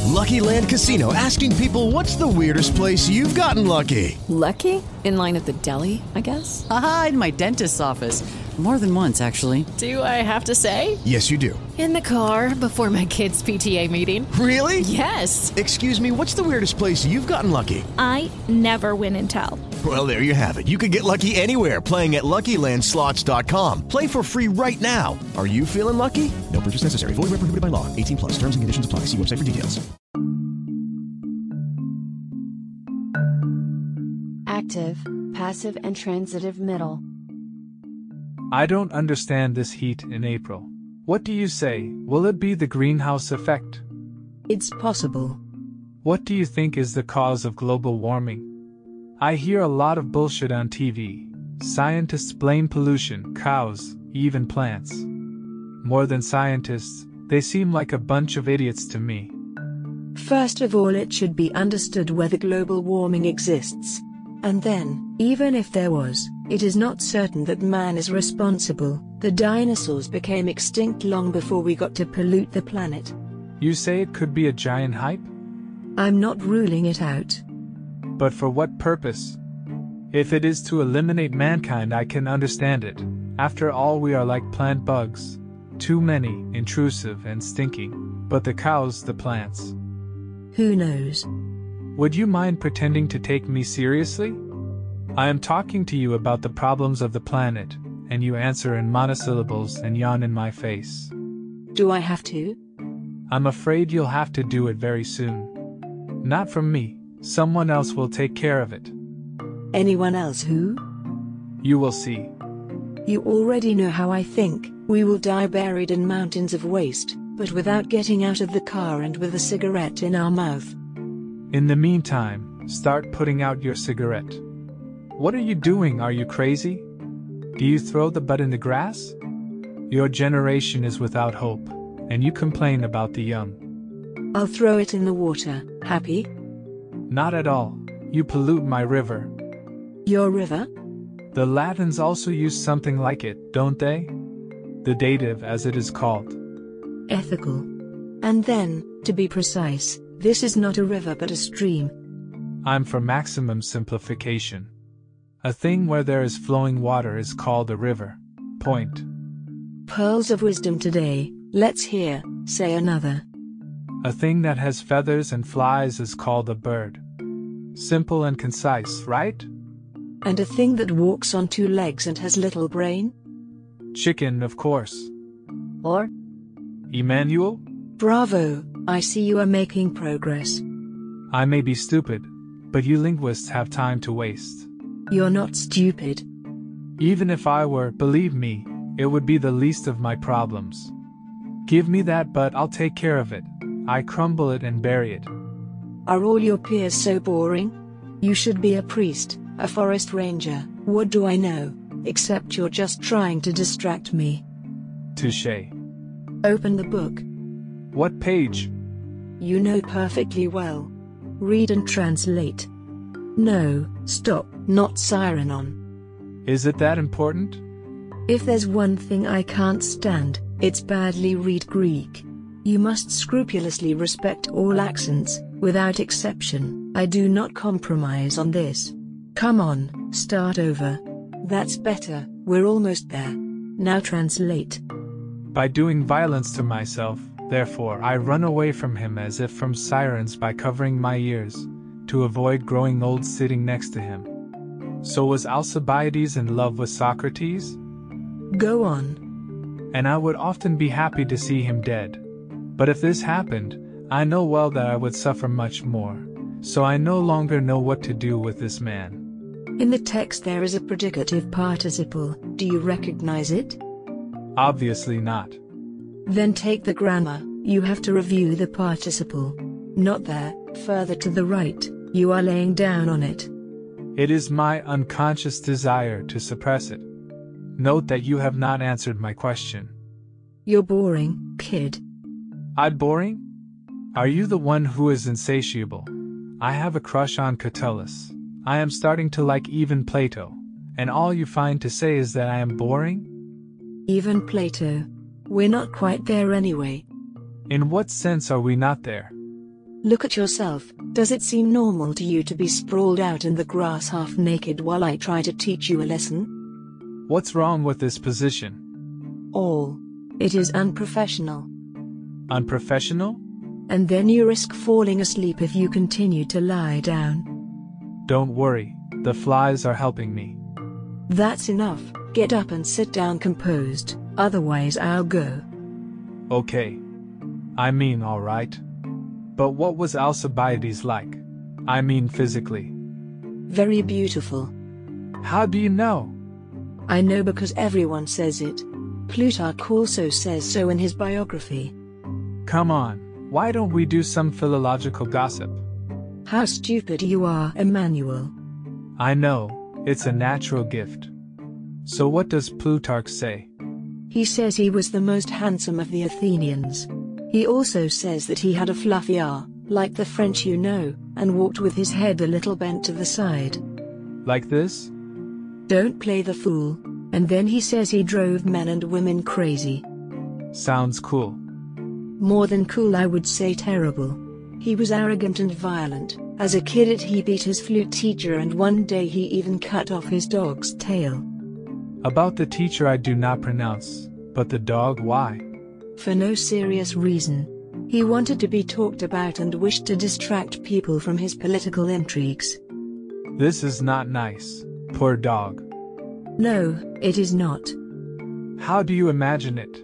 Lucky Land Casino, asking people, what's the weirdest place you've gotten lucky? Lucky? In line at the deli, I guess? Aha, in my dentist's office. More than once, actually. Do I have to say? Yes, you do. In the car before my kids' PTA meeting. Really? Yes. Excuse me, what's the weirdest place you've gotten lucky? I never win and tell. Well, there you have it. You can get lucky anywhere, playing at LuckyLandSlots.com. Play for free right now. Are you feeling lucky? No purchase necessary. Void where prohibited by law. 18 plus. Terms and conditions apply. See website for details. Active, passive, and transitive middle. I don't understand this heat in April. What do you say? Will it be the greenhouse effect? It's possible. What do you think is the cause of global warming? I hear a lot of bullshit on TV. Scientists blame pollution, cows, even plants. More than scientists, they seem like a bunch of idiots to me. First of all, it should be understood whether global warming exists. And then, even if there was, it is not certain that man is responsible. The dinosaurs became extinct long before we got to pollute the planet. You say it could be a giant hype? I'm not ruling it out. But for what purpose? If it is to eliminate mankind, I can understand it. After all, we are like plant bugs. Too many, intrusive and stinking. But the cows, the plants. Who knows? Would you mind pretending to take me seriously? I am talking to you about the problems of the planet, and you answer in monosyllables and yawn in my face. Do I have to? I'm afraid you'll have to do it very soon. Not from me. Someone else will take care of it. Anyone else who? You will see. You already know how I think. We will die buried in mountains of waste, but without getting out of the car and with a cigarette in our mouth. In the meantime, start putting out your cigarette. What are you doing? Are you crazy? Do you throw the butt in the grass? Your generation is without hope, and you complain about the young. I'll throw it in the water. Happy? Not at all. You pollute my river. Your river? The Latins also use something like it, don't they? The dative, as it is called. Ethical. And then, to be precise, this is not a river but a stream. I'm for maximum simplification. A thing where there is flowing water is called a river. Point. Pearls of wisdom today. Let's hear, say another. A thing that has feathers and flies is called a bird. Simple and concise, right? And a thing that walks on two legs and has little brain? Chicken, of course. Or? Emmanuel? Bravo, I see you are making progress. I may be stupid, but you linguists have time to waste. You're not stupid. Even if I were, believe me, it would be the least of my problems. Give me that butt, I'll take care of it. I crumble it and bury it. Are all your peers so boring? You should be a priest, a forest ranger, what do I know, except you're just trying to distract me. Touché. Open the book. What page? You know perfectly well. Read and translate. No, stop, not siren on. Is it that important? If there's one thing I can't stand, it's badly read Greek. You must scrupulously respect all accents, without exception. I do not compromise on this. Come on, start over. That's better, we're almost there. Now translate. By doing violence to myself, therefore I run away from him as if from sirens by covering my ears, to avoid growing old sitting next to him. So was Alcibiades in love with Socrates? Go on. And I would often be happy to see him dead. But if this happened, I know well that I would suffer much more, so I no longer know what to do with this man. In the text there is a predicative participle, do you recognize it? Obviously not. Then take the grammar, you have to review the participle. Not there, further to the right, you are laying down on it. It is my unconscious desire to suppress it. Note that you have not answered my question. You're boring, kid. I'm boring? Are you the one who is insatiable? I have a crush on Catullus. I am starting to like even Plato. And all you find to say is that I am boring? Even Plato. We're not quite there anyway. In what sense are we not there? Look at yourself. Does it seem normal to you to be sprawled out in the grass half naked while I try to teach you a lesson? What's wrong with this position? All. It is unprofessional. Unprofessional? And then you risk falling asleep if you continue to lie down. Don't worry, the flies are helping me. That's enough. Get up and sit down composed, otherwise I'll go. Okay. I mean, alright. But what was Alcibiades like? I mean physically. Very beautiful. How do you know? I know because everyone says it. Plutarch also says so in his biography. Come on, why don't we do some philological gossip? How stupid you are, Emmanuel. I know, it's a natural gift. So what does Plutarch say? He says he was the most handsome of the Athenians. He also says that he had a fluffy R, like the French you know, and walked with his head a little bent to the side. Like this? Don't play the fool. And then he says he drove men and women crazy. Sounds cool. More than cool, I would say terrible. He was arrogant and violent. As a kid he beat his flute teacher, and one day he even cut off his dog's tail. About the teacher I do not pronounce, but the dog, why? For no serious reason. He wanted to be talked about and wished to distract people from his political intrigues. This is not nice. Poor dog. No, it is not. How do you imagine it?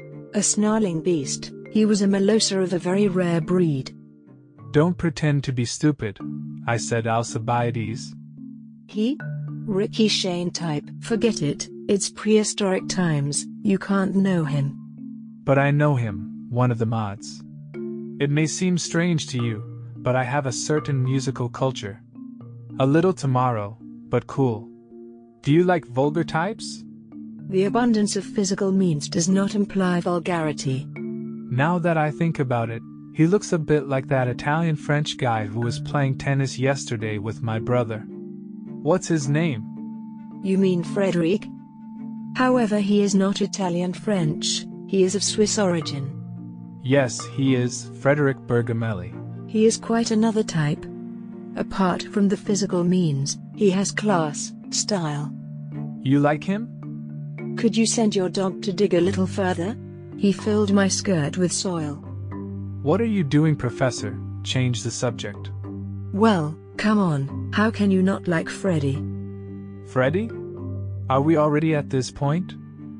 A snarling beast. He was a Molosser of a very rare breed. Don't pretend to be stupid. I said Alcibiades. He? Ricky Shane type. Forget it, it's prehistoric times, you can't know him. But I know him, one of the mods. It may seem strange to you, but I have a certain musical culture. A little tomorrow, but cool. Do you like vulgar types? The abundance of physical means does not imply vulgarity. Now that I think about it, he looks a bit like that Italian-French guy who was playing tennis yesterday with my brother. What's his name? You mean Frederic? However, he is not Italian-French, he is of Swiss origin. Yes, he is, Frederic Bergamelli. He is quite another type. Apart from the physical means, he has class, style. You like him? Could you send your dog to dig a little further? He filled my skirt with soil. What are you doing, Professor? Change the subject. Well, come on, how can you not like Freddy? Freddy? Are we already at this point?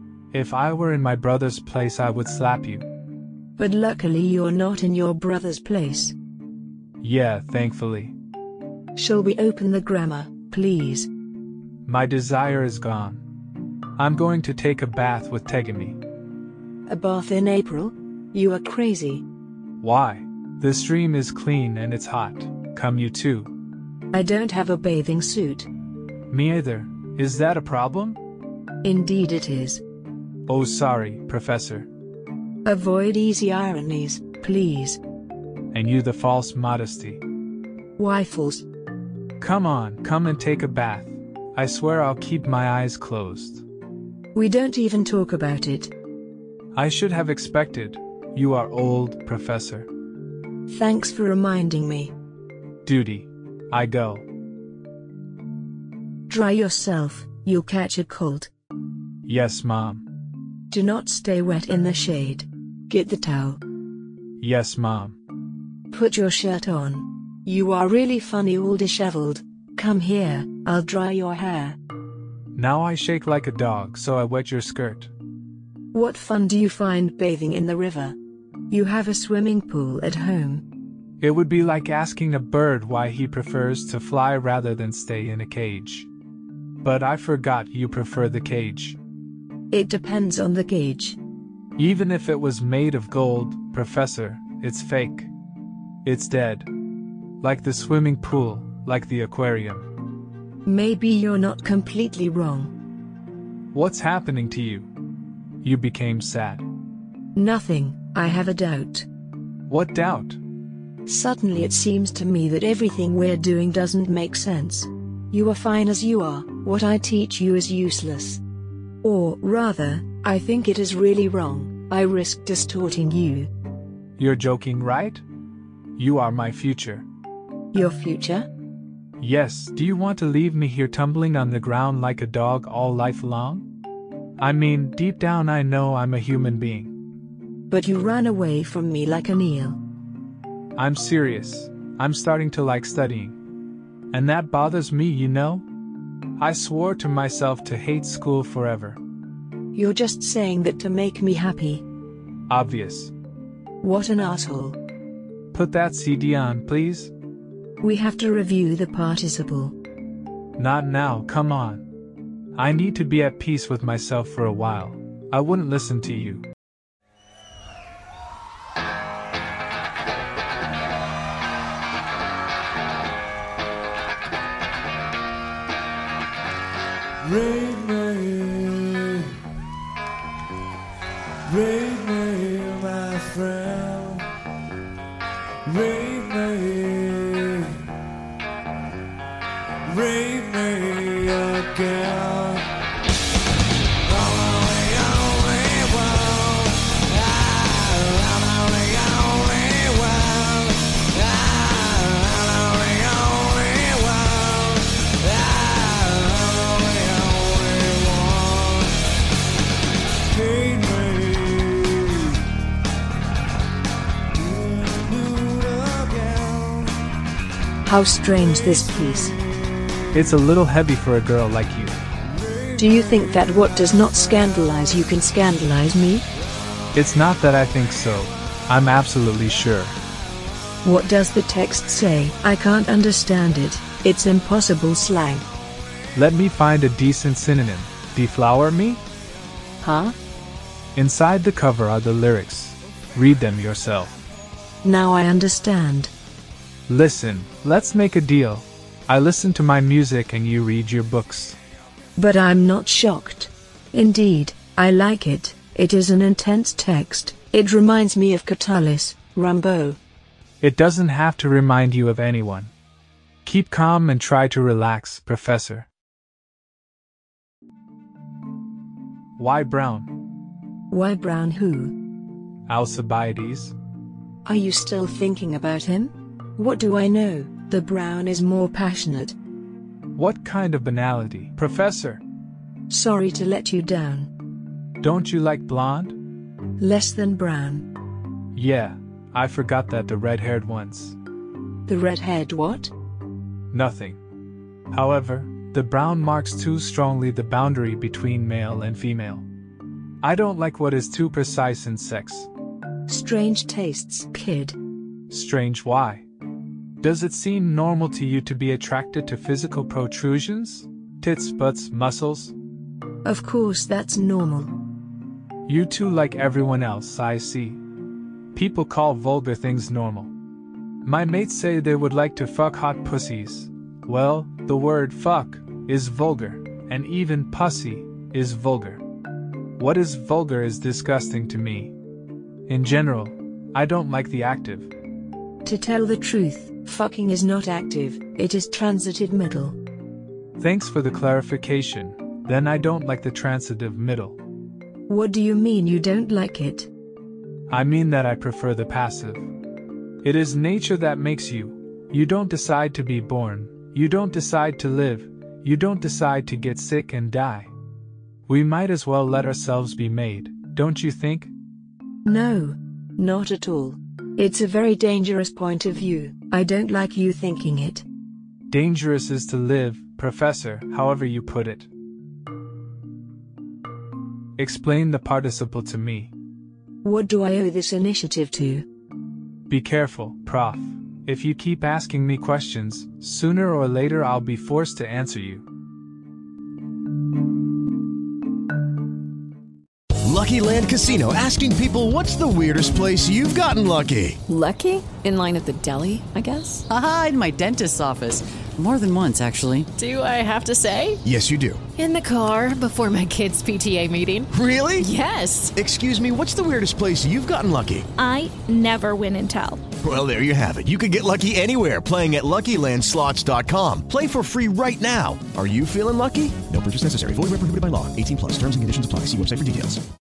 If I were in my brother's place, I would slap you. But luckily you're not in your brother's place. Yeah, thankfully. Shall we open the grammar, please? My desire is gone. I'm going to take a bath with Tegami. A bath in April? You are crazy. Why? The stream is clean and it's hot. Come you too. I don't have a bathing suit. Me either. Is that a problem? Indeed it is. Oh, sorry, Professor. Avoid easy ironies, please. And you the false modesty. Why false? Come on, come and take a bath. I swear I'll keep my eyes closed. We don't even talk about it. I should have expected. You are old, Professor. Thanks for reminding me. Duty. I go. Dry yourself, you'll catch a cold. Yes, Mom. Do not stay wet in the shade. Get the towel. Yes, Mom. Put your shirt on. You are really funny all disheveled. Come here, I'll dry your hair. Now I shake like a dog, so I wet your skirt. What fun do you find bathing in the river? You have a swimming pool at home. It would be like asking a bird why he prefers to fly rather than stay in a cage. But I forgot you prefer the cage. It depends on the cage. Even if it was made of gold, Professor, it's fake. It's dead. Like the swimming pool, like the aquarium. Maybe you're not completely wrong. What's happening to you? You became sad. Nothing, I have a doubt. What doubt? Suddenly it seems to me that everything we're doing doesn't make sense. You are fine as you are, what I teach you is useless. Or, rather, I think it is really wrong, I risk distorting you. You're joking, right? You are my future. Your future? Yes, do you want to leave me here tumbling on the ground like a dog all life long? I mean, deep down I know I'm a human being. But you ran away from me like an eel. I'm serious. I'm starting to like studying. And that bothers me, you know? I swore to myself to hate school forever. You're just saying that to make me happy. Obvious. What an asshole. Put that CD on, please. We have to review the participle. Not now, come on. I need to be at peace with myself for a while. I wouldn't listen to you. Read me, my friend. Read me again. How strange this piece. It's a little heavy for a girl like you. Do you think that what does not scandalize you can scandalize me? It's not that I think so. I'm absolutely sure. What does the text say? I can't understand it. It's impossible slang. Let me find a decent synonym. Deflower me? Huh? Inside the cover are the lyrics. Read them yourself. Now I understand. Listen, let's make a deal. I listen to my music and you read your books. But I'm not shocked. Indeed, I like it. It is an intense text. It reminds me of Catullus, Rimbaud. It doesn't have to remind you of anyone. Keep calm and try to relax, Professor. Why Brown? Why Brown who? Alcibiades. Are you still thinking about him? What do I know? The Brown is more passionate. What kind of banality, Professor? Sorry to let you down. Don't you like blonde? Less than brown. Yeah, I forgot that the red-haired ones. The red-haired what? Nothing. However, the brown marks too strongly the boundary between male and female. I don't like what is too precise in sex. Strange tastes, kid. Strange why? Does it seem normal to you to be attracted to physical protrusions? Tits, butts, muscles? Of course that's normal. You too like everyone else, I see. People call vulgar things normal. My mates say they would like to fuck hot pussies. Well, the word fuck is vulgar, and even pussy is vulgar. What is vulgar is disgusting to me. In general, I don't like the active. To tell the truth, fucking is not active, it is transitive middle. Thanks for the clarification. Then I don't like the transitive middle. What do you mean you don't like it? I mean that I prefer the passive. It is nature that makes you. You don't decide to be born. You don't decide to live. You don't decide to get sick and die. We might as well let ourselves be made, don't you think? No, not at all. It's a very dangerous point of view. I don't like you thinking it. Dangerous is to live, Professor, however you put it. Explain the participle to me. What do I owe this initiative to? Be careful, Prof. If you keep asking me questions, sooner or later I'll be forced to answer you. Lucky Land Casino, asking people, what's the weirdest place you've gotten lucky? Lucky? In line at the deli, I guess? Aha, in my dentist's office. More than once, actually. Do I have to say? Yes, you do. In the car before my kids' PTA meeting. Really? Yes. Excuse me, what's the weirdest place you've gotten lucky? I never win and tell. Well, there you have it. You can get lucky anywhere, playing at LuckyLandSlots.com. Play for free right now. Are you feeling lucky? No purchase necessary. Void where prohibited by law. 18+. Terms and conditions apply. See website for details.